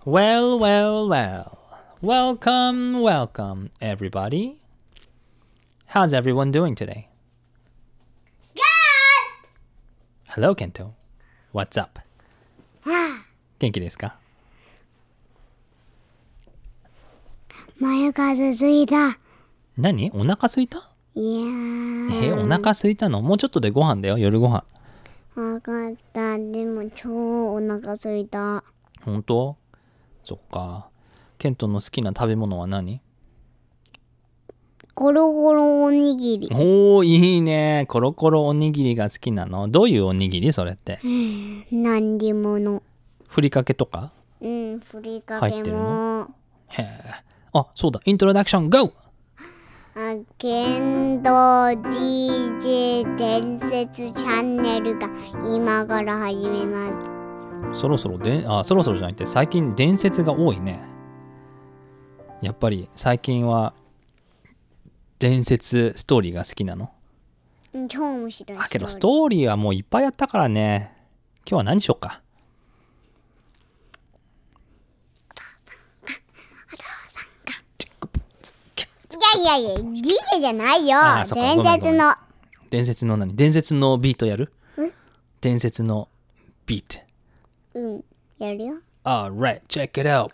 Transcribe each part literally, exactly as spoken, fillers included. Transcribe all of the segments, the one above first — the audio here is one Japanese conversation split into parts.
Well, well, well. Welcome, welcome, everybody. How's everyone doing today? Good! Hello, Kento. What's up? 元気ですか？ 眉数ついた。 何？お腹すいた？ いやー。 え、お腹すいたの？もうちょっとでご飯だよ、夜ご飯。 わかった。でも超お腹すいた。 本当？そっか。ケントの好きな食べ物は何？ ゴロゴロおにぎり。 おー、いいね。コロコロおにぎりが好きなの？どういうおにぎりそれって？ 何にもの。 ふりかけとか？ うん、ふりか入ってるけもの？へえ。あ、そうだ。イントロダクション GO！ あ、ケント ディージェー 伝説チャンネルが今から始めます。 そろそろであそろそろじゃなくて最近伝説が多いね。やっぱり最近は伝説ストーリーが好きなの？ うん、超面白い。 あけどストーリーはもういっぱいやったからね。今日は何しようか。 いやいやいや、ディージェー じゃないよ。 あそっか伝説の。 伝説の何？伝説のビートやる？伝説のビート。 うん、やるよ。 Alright, check it out.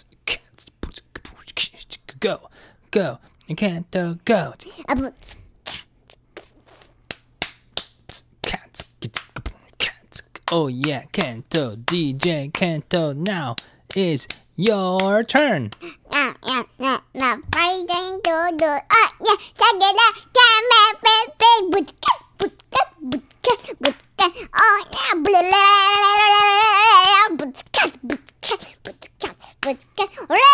Go, go, you can't go. あ、ぶつ。 Oh yeah, Kento, ディージェー Kento, now is your turn. あ、や、な、な、パイデンドド、あ、や、さげら、キャメペペ、ぶつか、ぶつか、ぶつか、ぶつか、おや、ブレレレレレレレ、ぶつか、ぶつか、ぶつか、ぶつか、レレ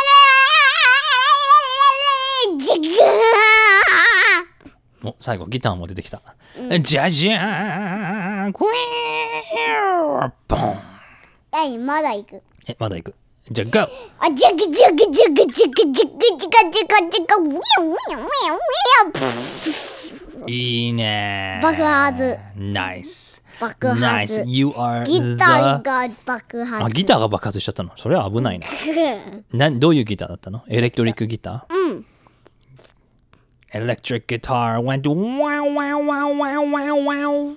レレレレ、ジガー。 お、最後ギターも出てきた。じゃじゃーん、クイーン、ボン。 はい、まだ行く。 え、まだ行く。じゃあ、GO! あ、ジャグジャグジャグジャグジャグジャガジャガジャガ、ウィンウィンウィンウィン。 いいねー。 爆発。 Nice. 爆発。 Nice. You are ギ the... ターが爆発。 あ、ギターが爆発しちゃったの？それは危ないな。な、どういうギターだったの？エレクトリックギター？ うん。 Electric guitar went wow wow wow wow wow wow.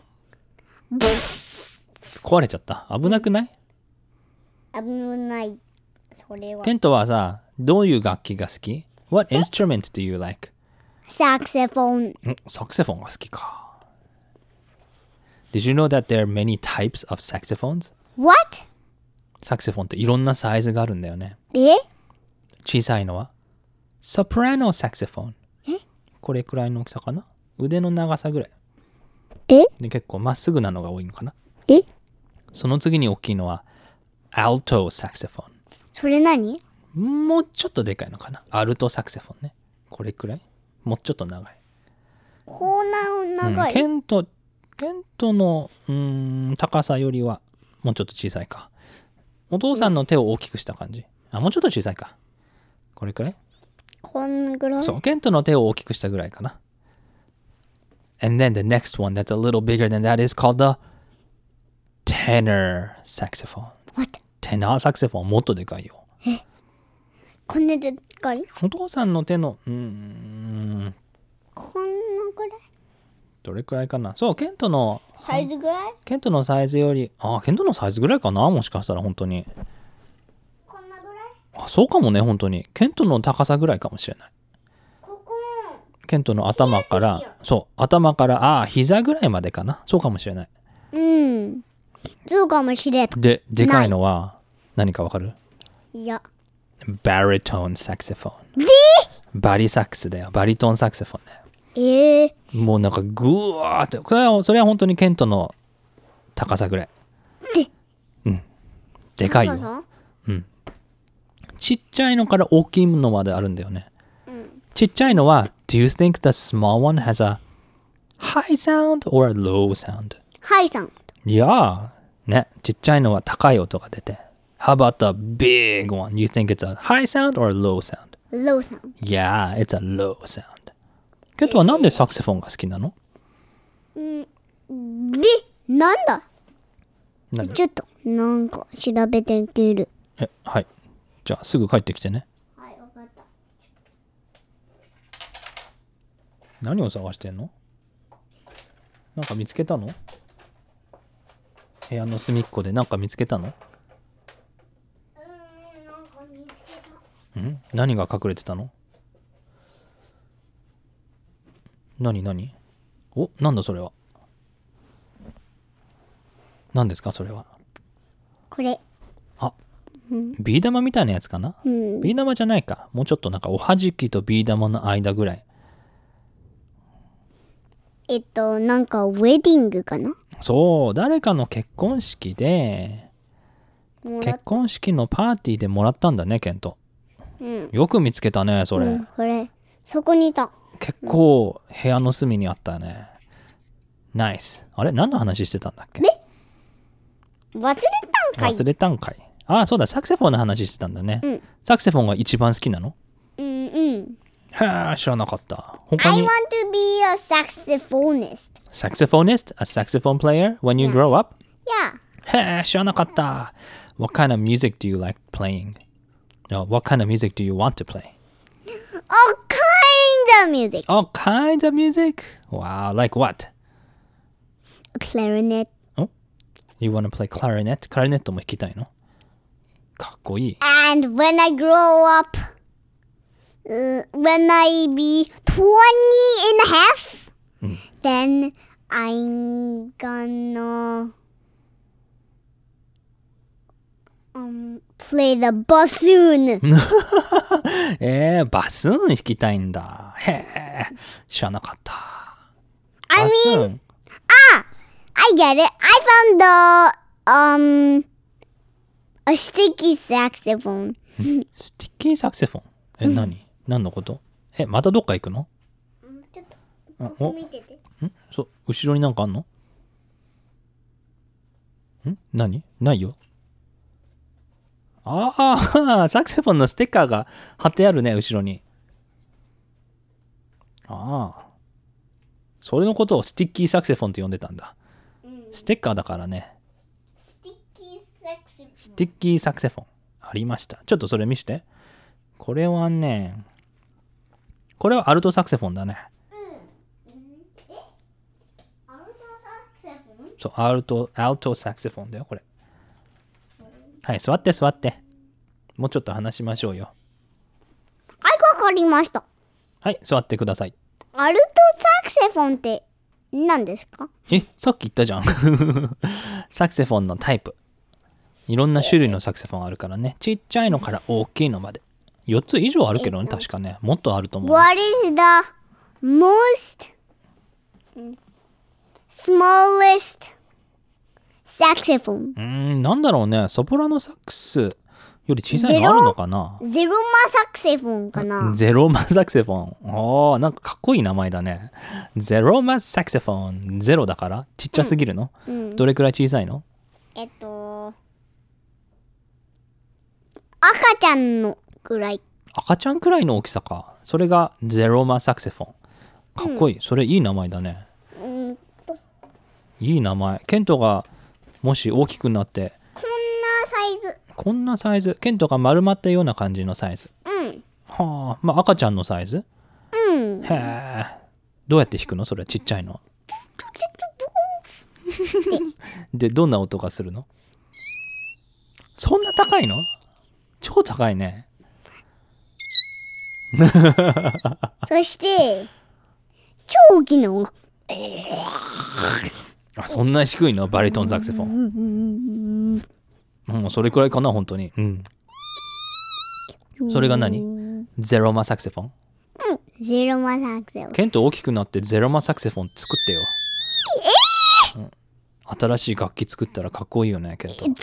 壊れちゃった。危なくない？ 危ない。それは。 ケントはさ、どういう楽器が好き？ What instrument do you like? サクセフォン。 んサクセフォンが好きか。Did you know that there are many types of saxophones? What? サクセフォンっていろんなサイズがあるんだよね。 え？ 小さいのはソプラノサクセフォン。これくらいの大きさかな？腕の長さぐらい。 え？ で結構まっすぐなのが多いのかな？ え？ その次に大きいのはアルトサクセフォそれ何？ ン。もうちょっとでかいのかな？アルトサクセフォンね。これくらい？もうちょっと長い。 こんな長い。 うん、ケント、ケントのうーん高さよりはもうちょっと小さいか。お父さんの手を大きくした感じ。あ、もうちょっと小さいか。これくらい？ こんぐらい？ そう、ケントの手を大きくしたぐらいかな。And then the next one that's a little bigger than that is called the tenor saxophone. What? テナーサクセフォンもっとでかいよ。 え？こんなでかい？ お父さんの手のうーんこんなぐらい？ どれくらいかな。そう、ケントのサイズぐらい？ ケントのサイズよりあケントのサイズぐらいかな、もしかしたら本当に。 こんなぐらい？ あ、そうかもね、本当に。ケントの高さぐらいかもしれない。 ここ。 ケントの頭からそう頭からああ膝ぐらいまでかな。そうかもしれない。 うん。そうかもしれん。 ででかいのは何かわかる？ いや。 バリトンサクセフォン。 で？ バリサックスだよ。バリトンサクセフォンだよ。 ええー。 もうなんかグワーって、これはそれは本当にケントの高さぐらい。 で、 うん。でかいよ。 高さ？ うん。ちっちゃいのから大きいのまであるんだよね。 うん。 ちっちゃいのは Do you think the small one has a high sound or a low sound? ハイさん。 いやね、ちっちゃいのは高い音が出て。How about the big one? You think it's a high sound or a low sound? ローさん。 Yeah, it's a low sound. ケントはなんでサクセフォンが好きなの？ うん。で、なんだ？ 何？ ちょっと、なんか調べてみる。 え、はい。 じゃあすぐ帰ってきてね。 はい、わかった。 何を探してんの？なんか見つけたの？部屋の隅っこでなんか見つけたの？ うーん、なんか見つけた。 ん？何が隠れてたの？何何？お、なんだそれは。何ですかそれは。 これ。 あ、 うん。 ビー玉みたいなやつかな？ うん。 ビー玉じゃないか。もうちょっとなんかおはじきとビー玉の間ぐらい。 えっと、なんかウェディングかな？ そう、誰かの結婚式で、 もらっ結婚式のパーティーでもらったんだね、ケント。 うん。 よく見つけたね、それ。 うん、これ、そこにいた。 結構部屋の隅にあったね。ナイス。あれ何の話してたんだっけ？ 忘れたんかい。 忘れたんかい。ああ、そうだ、サクセフォンの話してたんだね。 うん。 サクセフォンが一番好きなの？ うんうん。 へえ、知らなかった。他 I に want to be a saxophonist. saxophonist? A saxophone player when you Yeah. grow up? Yeah. へえ、知らなかった。What kind of music do you like playing? No, what kind of music do you want to play? All kinds of music. All kinds of music? Wow, like what? Clarinet. You want to play clarinet? クラリネットも弾きたいの？かっこいい。 And when I grow up, uh, when I be twenty and a half, Mm. then I'm gonna um, play the bassoon. えー、バスーン弾きたいんだ。へえ、知らなかった。 I バス mean, ーン I get it. I found the um a sticky saxophone. スティッキーサクセフォン。え、何？何のこと？え、またどっか行くの？ ちょっとあお見てて。 んそう、後ろになんかあんの？ん何？ないよ。ああ、サクセフォンのステッカーが貼ってあるね、後ろに。ああ。それのことをスティッキーサクセフォンって呼んでたんだ。ステッカーだからね。 Sticky saxophone. スティッキーサクセフォン。ありました。ちょっとそれ見して。これはね、これはアルトサクセフォンだね。 アルトサクセフォン？ そう、アルト、アルトサクセフォンだよ、これ。はい、座って座って。もうちょっと話しましょうよ。 はい、わかりました。 はい、座ってください。 アルトサクセフォンって何ですか？ え、さっき言ったじゃん。サクセフォンのタイプ。いろんな種類のサクセフォンあるからね。ちっちゃいのから大きいのまで。よっつ以上あるけどね、確かね。もっとあると思う。 What is the most smallest saxophone? うーん、なんだろうね。ソプラノサックスより小さいのあるのかな？ ゼロマサクセフォンかな？ ゼロマサクセフォン。おー、なんかかっこいい名前だね。ゼロマサクセフォン。ゼロだからちっちゃすぎるの？ うん、 どれくらい小さいの？ えっと、赤ちゃんのくらい。 赤ちゃんくらいの大きさか。それがゼロマサクセフォン。かっこいい。それいい名前だね。 うんと、 いい名前。ケントがもし大きくなってこんなサイズ。 こんなサイズ。ケントが丸まったような感じのサイズ。 うん。 はあ、まあ赤ちゃんのサイズ？ うん。 へえ。どうやって弾くの？それちっちゃいの。で、どんな音がするの？そんな高いの？超高いね。 そして超大きな音。 あ、そんな低いの？バリトンサクセフォン。もうそれくらいかな、本当に。うん。それが何？ゼロマサクセフォン？ うん、ゼロマサクセフォン。 ケント大きくなってゼロマサクセフォン作ってよ。えーうん、新しい楽器作ったらかっこいいよね、ケント。 作った？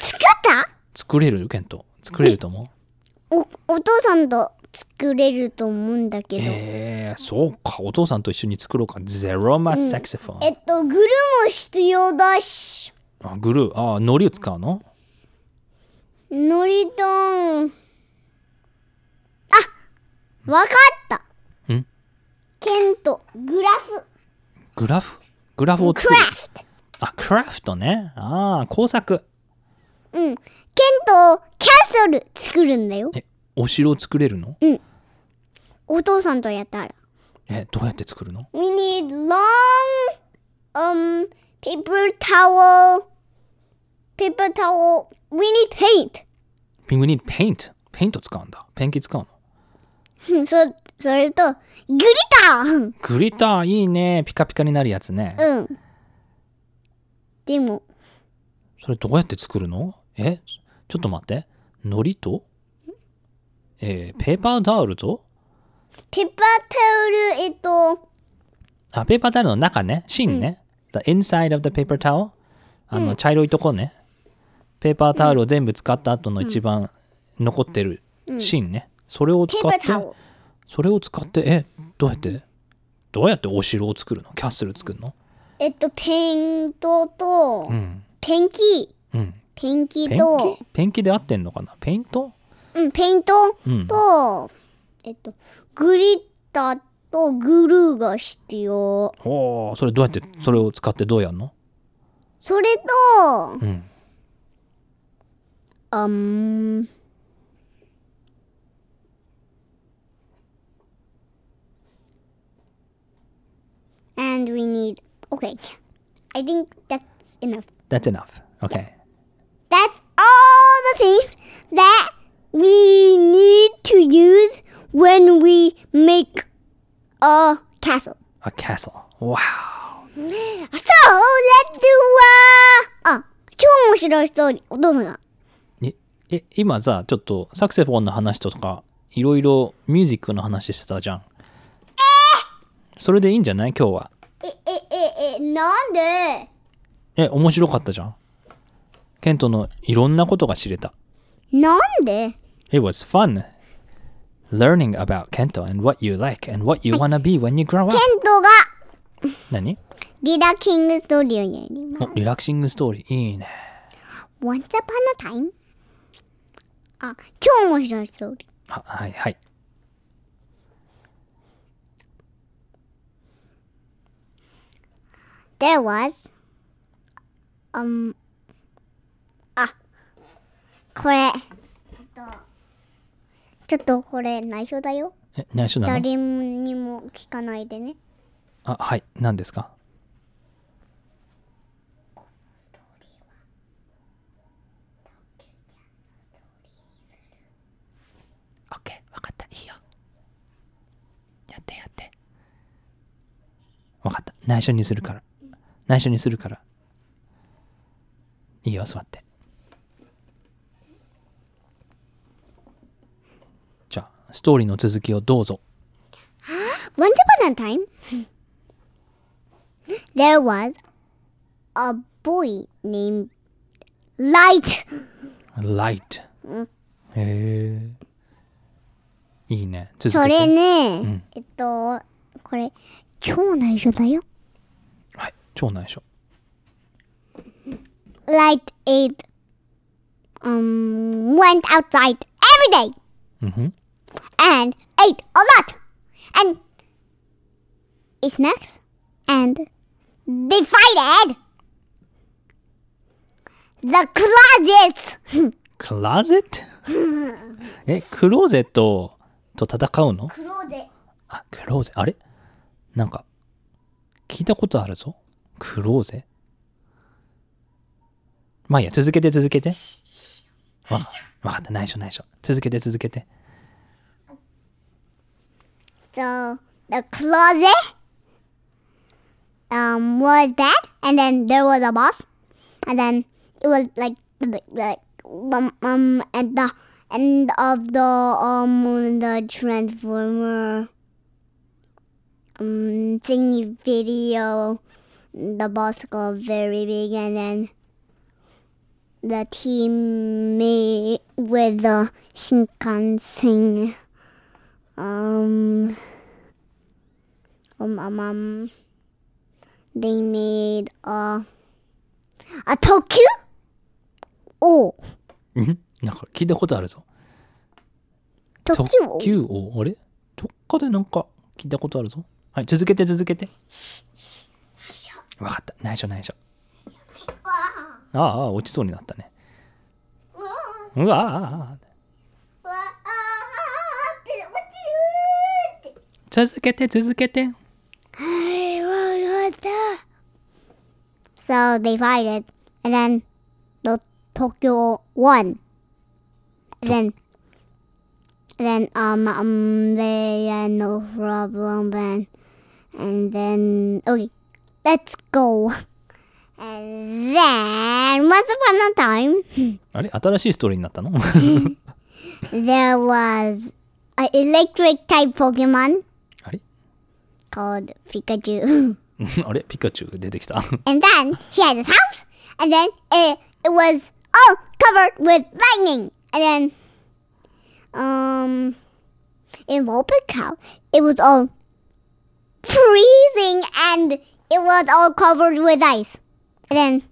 作れる？ケント。作れると思う？お、お父さんと作れると思うんだけど。 えー、そうか。お父さんと一緒に作ろうか。ゼロマサクセフォン。 うん、えっと、グルも必要だし。 あ、グルー。あ、海苔を使うの？ のりとん。あ、わかった。 ん？ ケント、グラフ。 グラフ？グラフを作る。 クラフト。 あ、クラフトね。ああ、工作。 うん。ケント、キャッスル作るんだよ。 え、 お城を作れるの？ うん。お父さんとやったら。 え、どうやって作るの？ We need long um paper towel. Paper towel. We need paint. We need paint. ペイント使うんだ。ペンキ使うの？ うんそそれとグリター。 グリターいいね。ピカピカになるやつね。 うん。でもそれどうやって作るの？え、ちょっと待って。糊と、えー、ペーパータオルと、 ペーパータオルえっとあ、ペーパータオルの中ね。芯ね。The inside of the paper towel。あの、茶色いとこね。ペーパータオルを全部使った後の一番残ってる芯ね。それを使って、それを使って、え、どうやってどうやってお城を作るの？キャッスル作るの？ えっとペントと、 うん。 ペンキ、 うん。 ペンキペンとキペンキで合ってんのかな？ペイント？ うんペイントうん。 と、えっとグリッターとグルーが必要。 おお、それどうやってそれを使ってどうやんの？ それとうん。 あん and we need okay I think that's enough. That's enough. Okay. That's all the things that we need to use when we make a castle. A castle. Wow. So let's do a あ、超面白いストーリー。お父さんが。 え、え、今さ、ちょっとサクセフォンの話とか、いろいろミュージックの話してたじゃん。それでいいんじゃない今日は。 え、え、え、え、なんで？ え、面白かったじゃん。ケントのいろんなことが知れた。 なんで？ It was fun learning about Kento and what you like and what you wanna be when you grow ケ up. ントが何？ リラキングストーリーをやります。 お、リラクシングストーリー。いいね。 Once upon a time? あ、超面白いストーリー。 あ、はいはい。 There was um あこれちょっとこれ内緒だよ。 え、内緒なの？ 誰にも聞かないでね。 あ、はい。何ですか？オッケー、わかった。いいよ。やってやって。わかった。内緒にするから。内緒にするから。いいよ、座って。じゃあ、ストーリーの続きをどうぞ。 Once upon a time, there was a boy named Light. Light。へえ。いいね。続けて。 それね、 うんえっと、これ、超内緒だよ。 はい。超内緒。 Light ate, um, went outside every day うんふん。 and ate a lot and ate snacks and divided the closets. クローゼットえ、クローゼットと戦うの？ Closet. あ、クローゼあれなんか、聞いたことあるぞ。クローゼまあいいや、続けて続けて。わ、わかった、内緒内緒。続けて続けて。 So the closet um was bad, and then there was a boss, and then it was like like um, um at the end of the um the Transformer um thingy video, the boss got very big, and then the team made with the Shinkansen. Um, um, um, um, they made a a Tokyo? Oh, んなんか聞いたことあるぞ。 Tokyo? 特急王あれどっかでなんか聞いたことあるぞ。はい、続けて続けて。わかった、内緒内緒。ああ、落ちそうになったね。うわあ。 続けて続けて。 So they fight it, and then the Tokyo won. And then, then um um they had no problem then, and then okay, let's go. And then once upon a time, あれ新しいストーリーになったの there was an electric type Pokemon あれ called Pikachu. あれピカチュウ出てきた And then he had his house, and then it, it was all covered with lightning. And then, um, in Vulpix, it was all freezing, and it was all covered with ice. And then,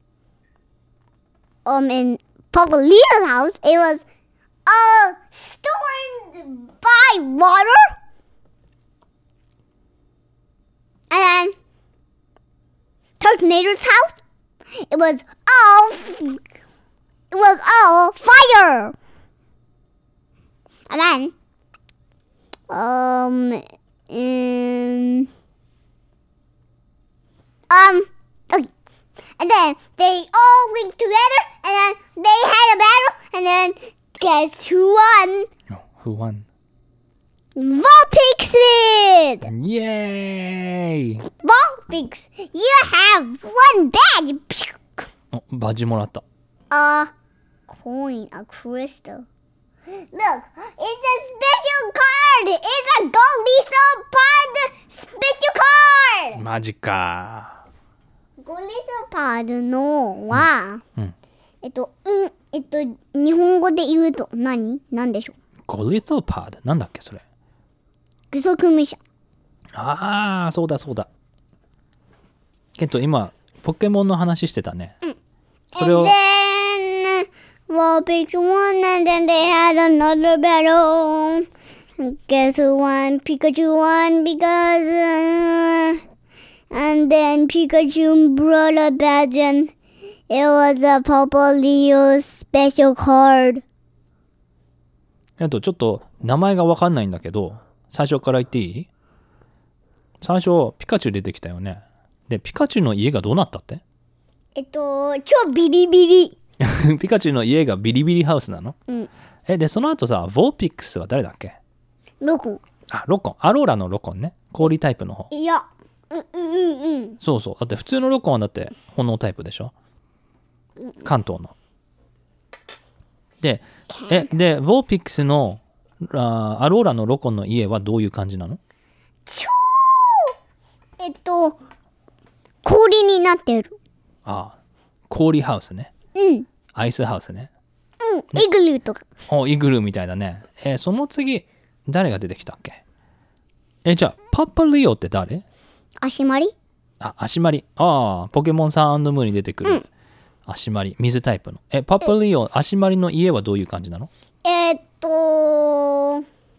um, in Popolino's house, it was all stormed by water. And then Tornado's house, it was all it was all fire. And then um in, um okay. And then they all linked together, and then they had a battle, and then guess who won? Oh, who won? Vulpix did! Yay! Vulpix, you have one badge! おバッジもらった A coin, a crystal. Look, it's a special card! It's a Go Lethal Pod special card! マジか Go Lethal Pod のは、 うんうんえっと、うん、えっと、日本語で言うと何何でしょうゴリゾパードなんだっけそれ具足無者。 ああそうだそうだけど今ポケモンの話してたね、うん、それを And then Vulpix won, and then they had another battle. Guess who won? Pikachu won because uh, and then Pikachu brought a badge, and it was a Popolio special card. えっとちょっと名前が分かんないんだけど最初から言っていい？最初ピカチュウ出てきたよね。でピカチュウの家がどうなったって？ えっと超ビリビリピカチュウの家がビリビリハウスなの？ うん。 えでその後さヴォーピックスは誰だっけ？ ロコン。 あロコンアローラのロコンね氷タイプの方。 いやうんうんうんうんそうそうだって普通のロコンはだって炎タイプでしょ関東の。でえでヴォーピックスのあアローラのロコンの家はどういう感じなの？ 超えっと氷になってる。 ああ氷ハウスね。 うんアイスハウスね。 うんイグルーとか。 おイグルーみたいだね。えーその次誰が出てきたっけ？えじゃあパパリオって誰？ 足まり？ あ足まり。ああポケモンサン&ムーに出てくる、 うん、 足まり水タイプの。えパパリオ足まりの家はどういう感じなの？ えー、っと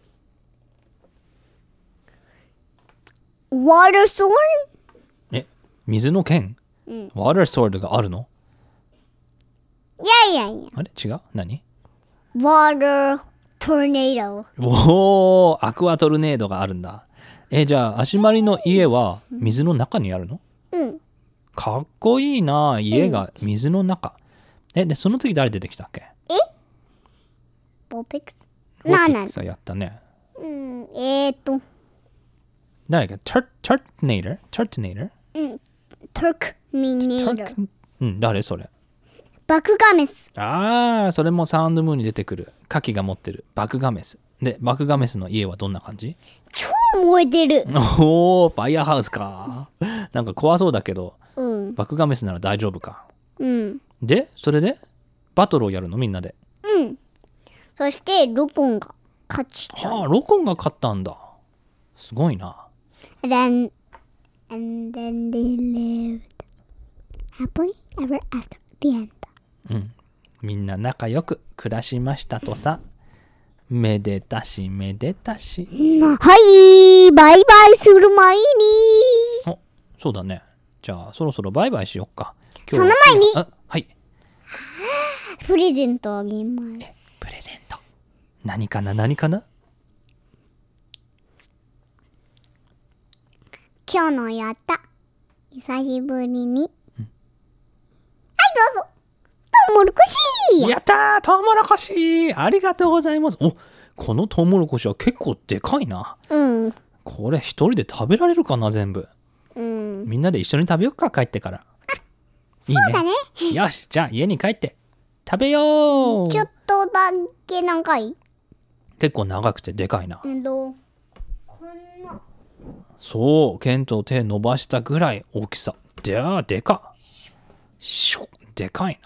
ワーターソード？ え水の剣？ うん。 ワーターソードがあるの？ いやいやいや。 あれ違う？何？ ワータートルネード。 おーアクアトルネードがあるんだ。えじゃあ足まりの家は水の中にあるの？ うん。 かっこいいな家が水の中。えでその次誰出てきたっけ？ えボーピックスなあなあ。 さやったね。 うん、えー、っと。 誰だっけ？タートネーター？タートネーター？ うん。トルクミネーター。 うん、誰それ？ バクガメス。 ああ、それもサウンドムーンに出てくる。カキが持ってるバクガメス。で、バクガメスの家はどんな感じ？ 超燃えてる。 おー、ファイヤーハウスか。なんか怖そうだけど、 うん。 バクガメスなら大丈夫か。 うん。 で、それでバトルをやるのみんなで。 うん。そしてロコンが勝ちた。 はあ、ロコンが勝ったんだ。すごいな。 And then, and then they lived happily ever after the end. うん。みんな仲良く暮らしましたとさ。めでたしめでたし。 はい、バイバイする前に。 お、そうだね。じゃあそろそろバイバイしよっか。 その前に。 あ、はい。 プレゼントあげます。 プレゼント。何かな何かな？ 今日のやった。久しぶりに。うん、はい、どうぞ。トウモロコシ。 やったー、トウモロコシ。ありがとうございます。お、このトウモロコシは結構でかいな。 うん。 これ一人で食べられるかな、全部。 うん。 みんなで一緒に食べようか、帰ってから。 いいね。そうだね。 よし、じゃあ家に帰って食べよう。 ちょっとだけ長い？ 結構長くてでかいな。 うんと、こんな。 そう、ケント手伸ばしたぐらい大きさ。じゃあ、でか。しょ、でかいな。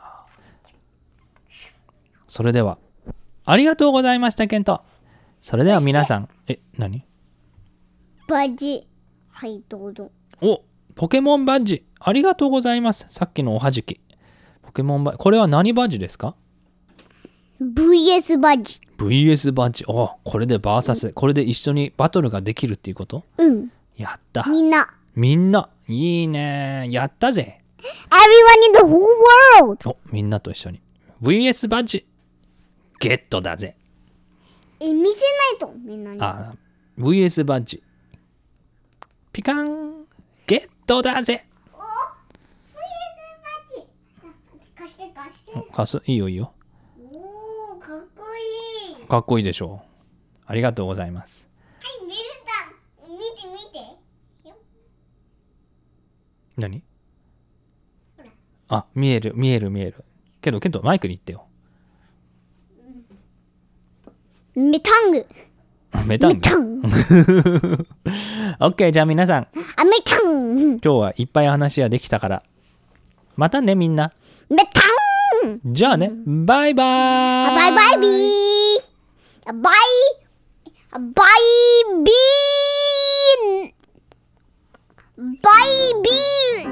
それでは、ありがとうございました、ケント。それでは皆さん、え、何？ バッジ。はい、どうぞ。 お、ポケモンバッジ。ありがとうございます。さっきのおはじき。ポケモンバッジ。これは何バッジですか？ ブイエス バッジ。 ブイエス バッジ。お、これでバーサス、うん、これで一緒にバトルができるっていうこと？ うん。 やった。 みんな。 みんな。いいね。やったぜ。 Everyone in the whole world. お、みんなと一緒に。ブイエス バッジ。ゲットだぜ。 え、見せないと、みんなに。 あ、ブイエス バッジ。ピカン。ゲットだぜ。 お、ブイエス バッジ。貸して貸して。 貸す。いいよいいよ。 おー、かっこいい。 かっこいいでしょう。ありがとうございます。 はい、見れた。見て見て。 何？あ、見える見える見える。けどけどマイクに言ってよ。 メタング。 メタング。メタング。オッケー、じゃあ皆さん。 あ、メタン。 今日はいっぱい話ができたから。またねみんな。 メタン。 じゃあね、バイバーイ。 バイバイビー。バイバイビー。バイビー。